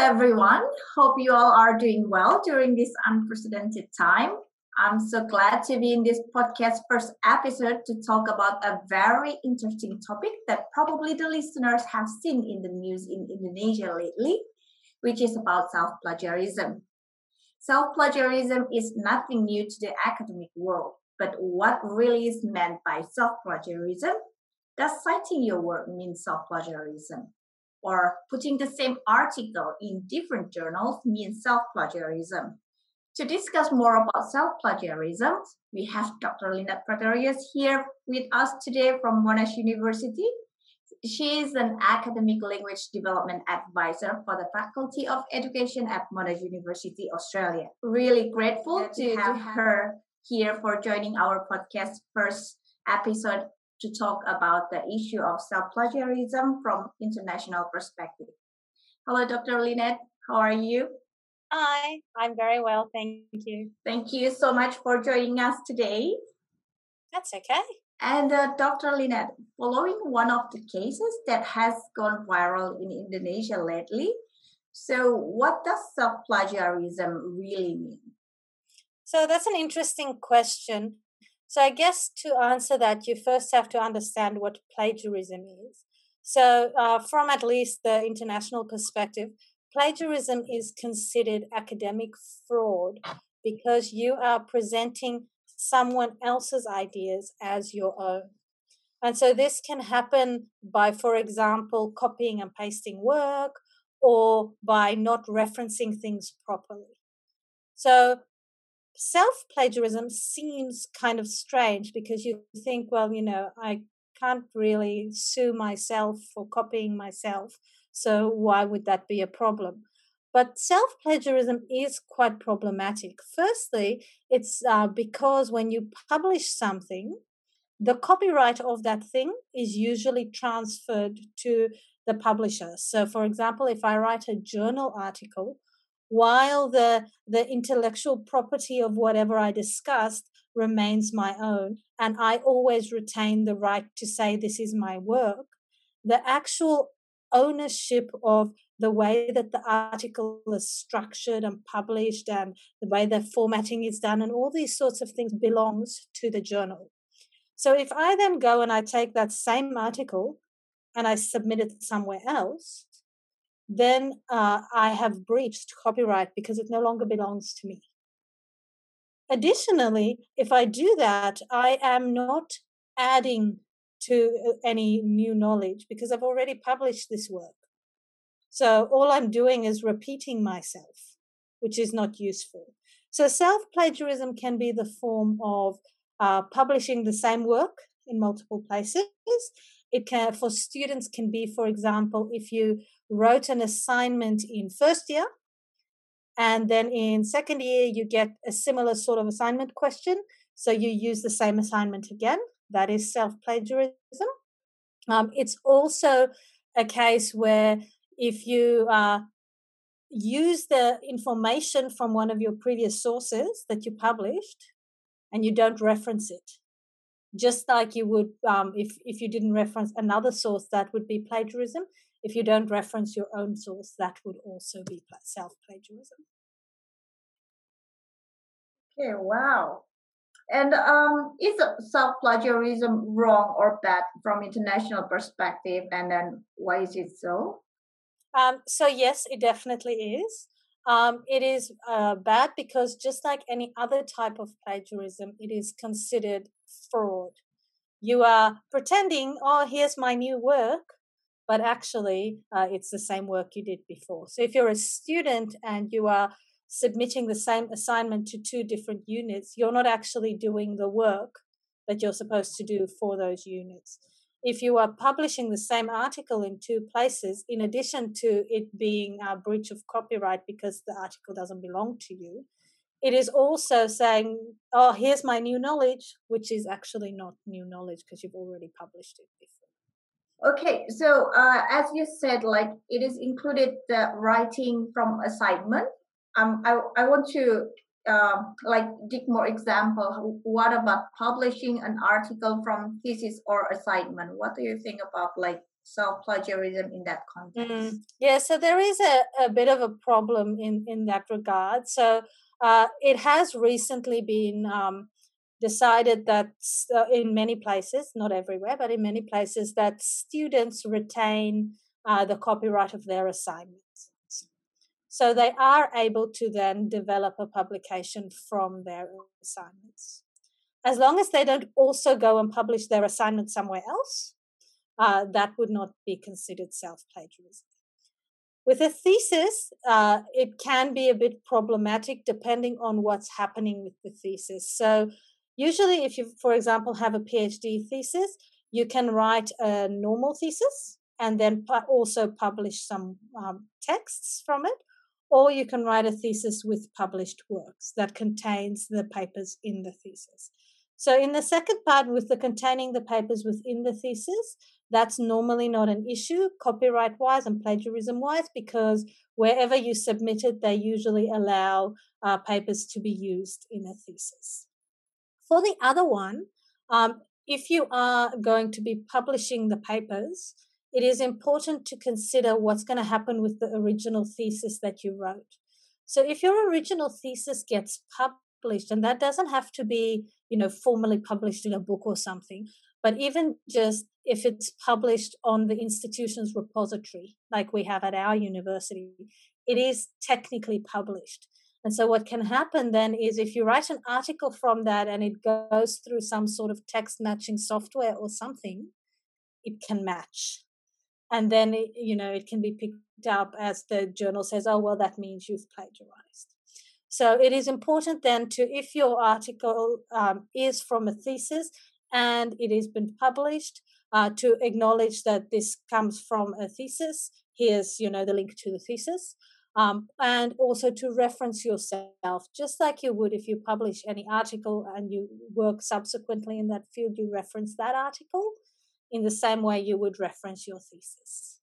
everyone. Hope you all are doing well during this unprecedented time. I'm so glad to be in this podcast first episode to talk about a very interesting topic that probably the listeners have seen in the news in Indonesia lately, which is about self-plagiarism. Self-plagiarism is nothing new to the academic world, but what really is meant by self-plagiarism? Does citing your work mean self-plagiarism? Or putting the same article in different journals means self-plagiarism? To discuss more about self-plagiarism, we have Dr. Lynette Pretorius here with us today from Monash University. She is an academic language development advisor for the Faculty of Education at Monash University, Australia. Really grateful to have her here for joining our podcast first episode to talk about the issue of self-plagiarism from international perspective. Hello, Dr. Lynette. How are you? Hi, I'm very well, thank you. Thank you so much for joining us today. That's okay. And Dr. Lynette, following one of the cases that has gone viral in Indonesia lately, so what does self-plagiarism really mean? So that's an interesting question. So I guess to answer that, you first have to understand what plagiarism is. So from at least the international perspective, plagiarism is considered academic fraud because you are presenting someone else's ideas as your own. And so this can happen by, for example, copying and pasting work or by not referencing things properly. So self-plagiarism seems kind of strange because you think, well, I can't really sue myself for copying myself, so why would that be a problem? But self-plagiarism is quite problematic. Firstly, it's because when you publish something, the copyright of that thing is usually transferred to the publisher. So, for example, if I write a journal article, while the intellectual property of whatever I discussed remains my own, and I always retain the right to say this is my work, the actual ownership of the way that the article is structured and published and the way the formatting is done and all these sorts of things belongs to the journal. So if I then go and I take that same article and I submit it somewhere else, then I have breached copyright because it no longer belongs to me. Additionally, if I do that, I am not adding to any new knowledge because I've already published this work. So all I'm doing is repeating myself, which is not useful. So self-plagiarism can be the form of publishing the same work in multiple places. It can, for students, can be, for example, if you wrote an assignment in first year and then in second year you get a similar sort of assignment question, so you use the same assignment again. That is self-plagiarism. It's also a case where if you use the information from one of your previous sources that you published and you don't reference it, just like you would if you didn't reference another source, that would be plagiarism. If you don't reference your own source, that would also be self-plagiarism. Okay, wow. And is self-plagiarism wrong or bad from international perspective? And then why is it so? So yes, it definitely is. It is bad because just like any other type of plagiarism, it is considered fraud. You are pretending, oh, here's my new work, but actually it's the same work you did before. So if you're a student and you are submitting the same assignment to two different units, you're not actually doing the work that you're supposed to do for those units. If you are publishing the same article in two places, in addition to it being a breach of copyright because the article doesn't belong to you, it is also saying, oh, here's my new knowledge, which is actually not new knowledge because you've already published it before. Okay, so as you said, like it is included the writing from assignment. I want to like dig more example. What about publishing an article from thesis or assignment? What do you think about like self-plagiarism in that context? Yeah, so there is a bit of a problem in that regard. So it has recently been decided that in many places, not everywhere, but in many places, that students retain the copyright of their assignments. So they are able to then develop a publication from their assignments. As long as they don't also go and publish their assignment somewhere else, that would not be considered self plagiarism. With a thesis, it can be a bit problematic depending on what's happening with the thesis. So, usually, if you, for example, have a PhD thesis, you can write a normal thesis and then also publish some texts from it, or you can write a thesis with published works that contains the papers in the thesis. So, in the second part, with the containing the papers within the thesis, that's normally not an issue copyright wise and plagiarism wise, because wherever you submit it, they usually allow papers to be used in a thesis. For the other one, if you are going to be publishing the papers, it is important to consider what's going to happen with the original thesis that you wrote. So if your original thesis gets published, and that doesn't have to be, formally published in a book or something, but even just if it's published on the institution's repository, like we have at our university, it is technically published. And so what can happen then is if you write an article from that and it goes through some sort of text matching software or something, it can match. And then, it can be picked up as the journal says, oh, well, that means you've plagiarized. So it is important then to, if your article is from a thesis and it has been published, to acknowledge that this comes from a thesis. Here's, the link to the thesis. And also to reference yourself, just like you would if you publish any article and you work subsequently in that field, you reference that article in the same way you would reference your thesis.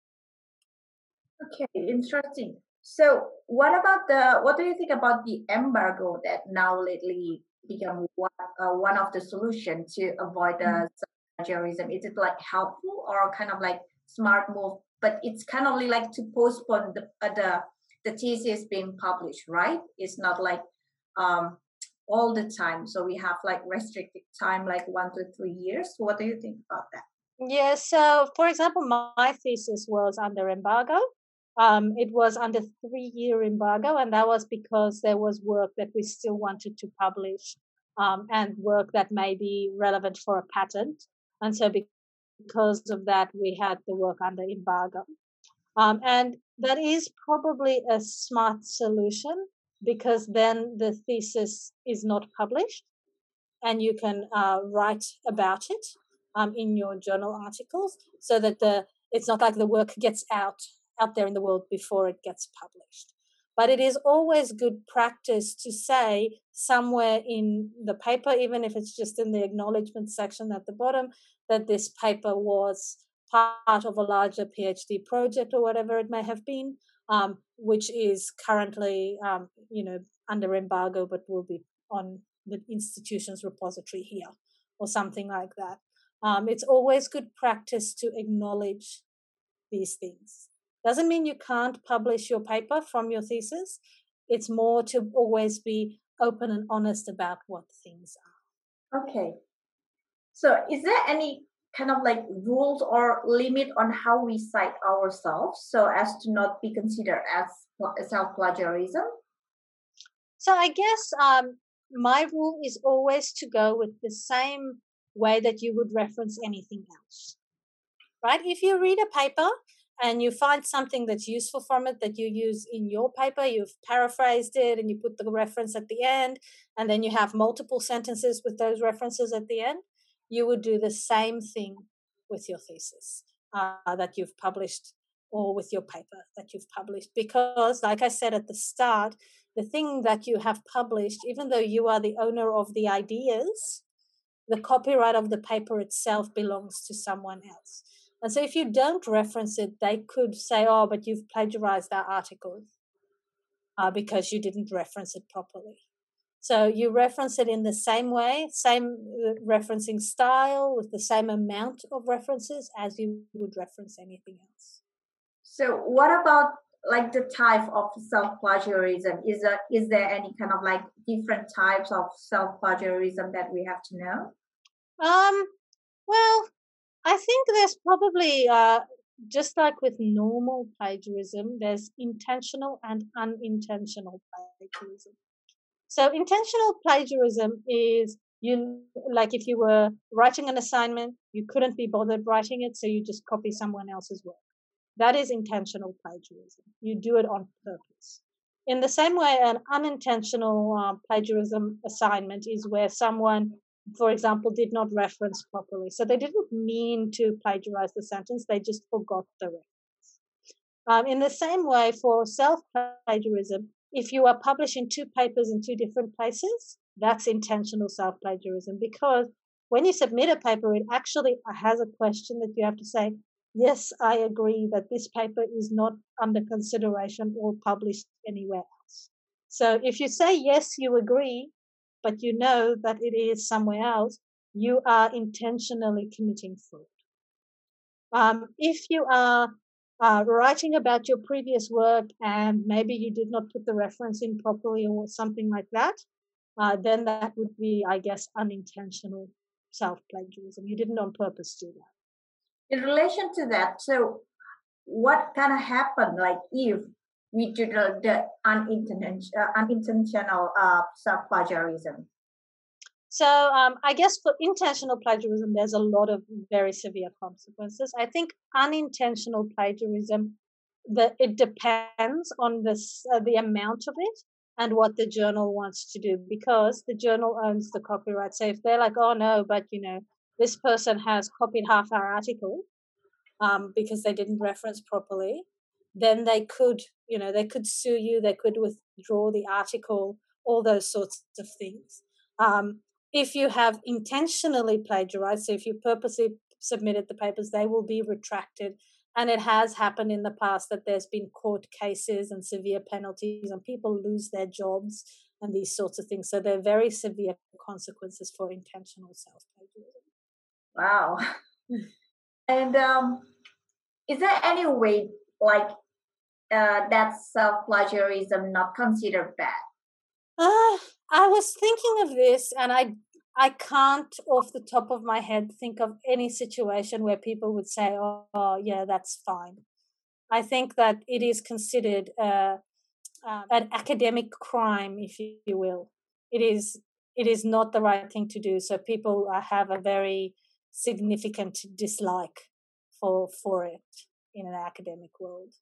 Okay, interesting. So, what do you think about the embargo that now lately become one of the solution to avoid the plagiarism? Is it like helpful or kind of like smart move? But it's kind of like to postpone the thesis being published, right? It's not like all the time. So we have like restricted time, like 1 to 3 years. What do you think about that? Yeah, so for example, my thesis was under embargo. It was under 3-year embargo, and that was because there was work that we still wanted to publish, and work that may be relevant for a patent. And so because of that, we had the work under embargo. And that is probably a smart solution, because then the thesis is not published and you can write about it in your journal articles, so that it's not like the work gets out there in the world before it gets published. But it is always good practice to say somewhere in the paper, even if it's just in the acknowledgement section at the bottom, that this paper was part of a larger PhD project or whatever it may have been, which is currently, under embargo, but will be on the institution's repository here or something like that. It's always good practice to acknowledge these things. Doesn't mean you can't publish your paper from your thesis. It's more to always be open and honest about what things are. Okay. So is there any kind of like rules or limit on how we cite ourselves so as to not be considered as self-plagiarism? So I guess my rule is always to go with the same way that you would reference anything else, right? If you read a paper and you find something that's useful from it that you use in your paper, you've paraphrased it and you put the reference at the end, and then you have multiple sentences with those references at the end, you would do the same thing with your thesis that you've published, or with your paper that you've published. Because, like I said at the start, the thing that you have published, even though you are the owner of the ideas, the copyright of the paper itself belongs to someone else. And so if you don't reference it, they could say, oh, but you've plagiarized our article because you didn't reference it properly. So you reference it in the same way, same referencing style, with the same amount of references as you would reference anything else. So what about like the type of self-plagiarism? Is there any kind of like different types of self-plagiarism that we have to know? Well, I think there's probably just like with normal plagiarism, there's intentional and unintentional plagiarism. So intentional plagiarism is you like if you were writing an assignment, you couldn't be bothered writing it, so you just copy someone else's work. That is intentional plagiarism. You do it on purpose. In the same way, an unintentional plagiarism assignment is where someone, for example, did not reference properly. So they didn't mean to plagiarize the sentence, they just forgot the reference. In the same way, for self plagiarism, if you are publishing two papers in two different places, that's intentional self plagiarism because when you submit a paper, it actually has a question that you have to say, yes, I agree that this paper is not under consideration or published anywhere else. So if you say, yes, you agree, but you know that it is somewhere else, you are intentionally committing fraud. If you are writing about your previous work and maybe you did not put the reference in properly or something like that, then that would be, I guess, unintentional self plagiarism. You didn't on purpose do that. In relation to that, so what kind of happen like if we do the unintentional self-plagiarism? So I guess for intentional plagiarism, there's a lot of very severe consequences. I think unintentional plagiarism, it depends on the amount of it and what the journal wants to do because the journal owns the copyright. So if they're like, oh no, but this person has copied half our article because they didn't reference properly, then they could sue you, they could withdraw the article, all those sorts of things. If you have intentionally plagiarized, so if you purposely submitted the papers, they will be retracted. And it has happened in the past that there's been court cases and severe penalties, and people lose their jobs and these sorts of things. So they're very severe consequences for intentional self plagiarism. Wow. And is there any way like that self-plagiarism not considered bad? I was thinking of this, and I can't, off the top of my head, think of any situation where people would say, "Oh, yeah, that's fine." I think that it is considered an academic crime, if you will. It is not the right thing to do. So people have a very significant dislike for it in an academic world.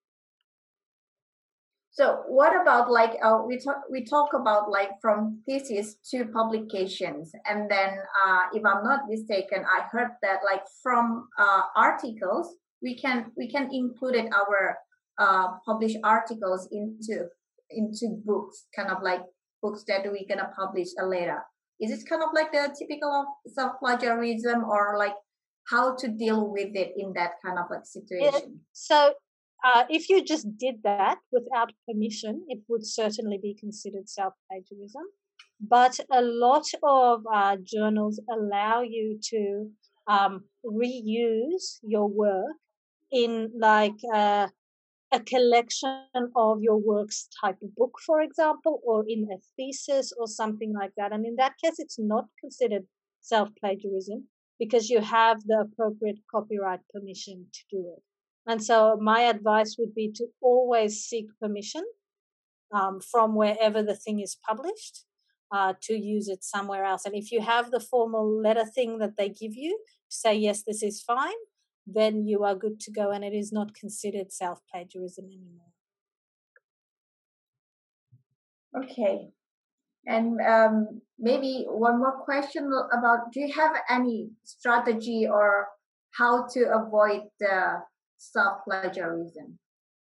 So what about like we talk about like from thesis to publications, and then if I'm not mistaken, I heard that like from articles we can include it our published articles into books, kind of like books that we're gonna publish later. Is it kind of like the typical of self plagiarism, or like how to deal with it in that kind of like situation? So if you just did that without permission, it would certainly be considered self plagiarism. But a lot of journals allow you to reuse your work in like a collection of your works type of book, for example, or in a thesis or something like that. And in that case, it's not considered self plagiarism because you have the appropriate copyright permission to do it. And so, my advice would be to always seek permission from wherever the thing is published to use it somewhere else. And if you have the formal letter thing that they give you, say, yes, this is fine, then you are good to go and it is not considered self plagiarism anymore. Okay. And maybe one more question about, do you have any strategy or how to avoid the self-plagiarism?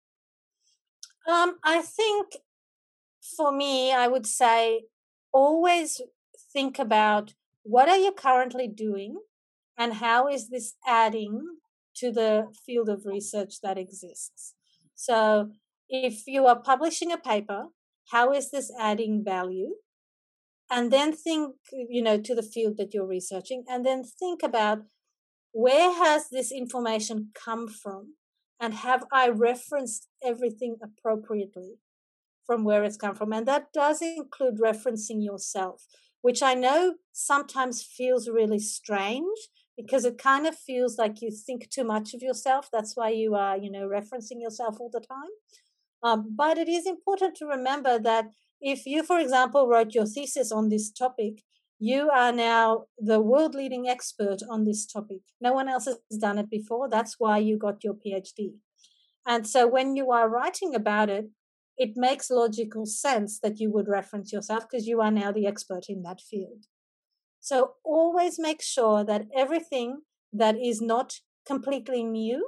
I think for me, I would say always think about what are you currently doing and how is this adding to the field of research that exists. So if you are publishing a paper, how is this adding value? and then think, to the field that you're researching, and then think about where has this information come from, and have I referenced everything appropriately from where it's come from. And that does include referencing yourself, which I know sometimes feels really strange because it kind of feels like you think too much of yourself. That's why you are, referencing yourself all the time. But it is important to remember that if you, for example, wrote your thesis on this topic, you are now the world leading expert on this topic. No one else has done it before. That's why you got your PhD. And so when you are writing about it, it makes logical sense that you would reference yourself because you are now the expert in that field. So always make sure that everything that is not completely new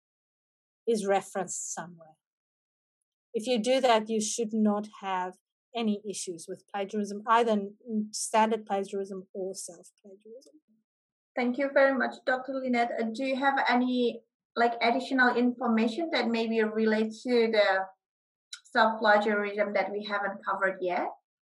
is referenced somewhere. If you do that, you should not have any issues with plagiarism, either standard plagiarism or self-plagiarism. Thank you very much, Dr. Lynette. Do you have any additional information that maybe relates to the self-plagiarism that we haven't covered yet?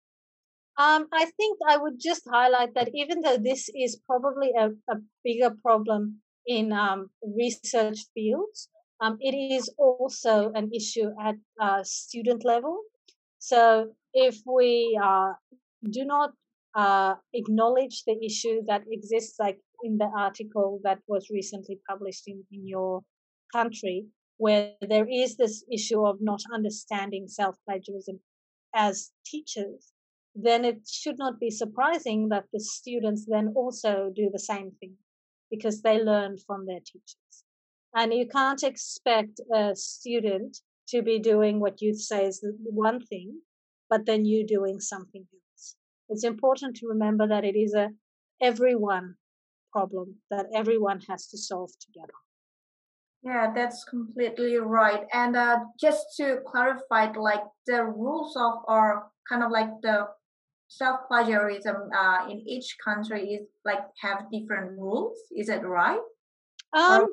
I think I would just highlight that even though this is probably a bigger problem in research fields, it is also an issue at student level. So if we do not acknowledge the issue that exists, like in the article that was recently published in your country, where there is this issue of not understanding self-plagiarism as teachers, then it should not be surprising that the students then also do the same thing because they learn from their teachers. And you can't expect a student to be doing what you say is one thing, but then you doing something else. It's important to remember that it is a everyone problem that everyone has to solve together. Yeah, that's completely right. And just to clarify, the rules of, or kind of the self-plagiarism in each country is have different rules. Is it right? Or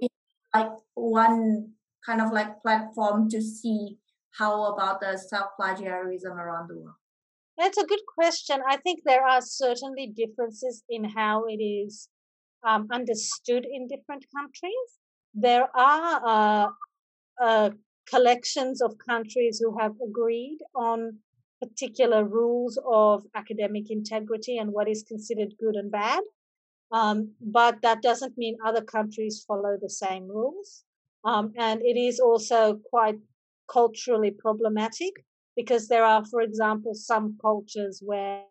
one kind of platform to see how about the self-plagiarism around the world? That's a good question. I think there are certainly differences in how it is understood in different countries. There are collections of countries who have agreed on particular rules of academic integrity and what is considered good and bad. But that doesn't mean other countries follow the same rules. And it is also quite culturally problematic because there are, for example, some cultures where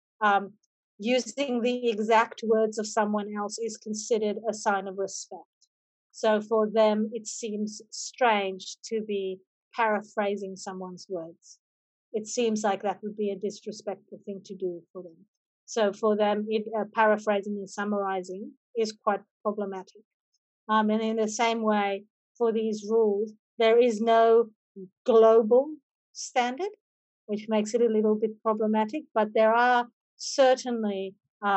using the exact words of someone else is considered a sign of respect. So for them, it seems strange to be paraphrasing someone's words. It seems like that would be a disrespectful thing to do for them. So for them, paraphrasing and summarizing is quite problematic. And in the same way, for these rules, there is no global standard, which makes it a little bit problematic. But there are certainly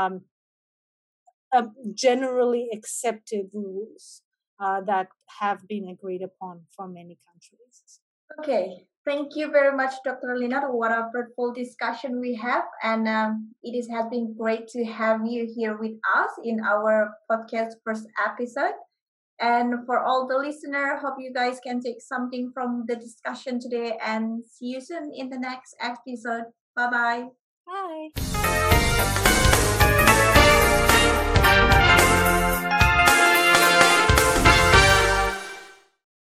generally accepted rules that have been agreed upon from many countries. Okay, thank you very much, Dr. Lynette. What a fruitful discussion we have, and it has been great to have you here with us in our podcast first episode. And for all the listeners, hope you guys can take something from the discussion today, and see you soon in the next episode. Bye-bye. Bye.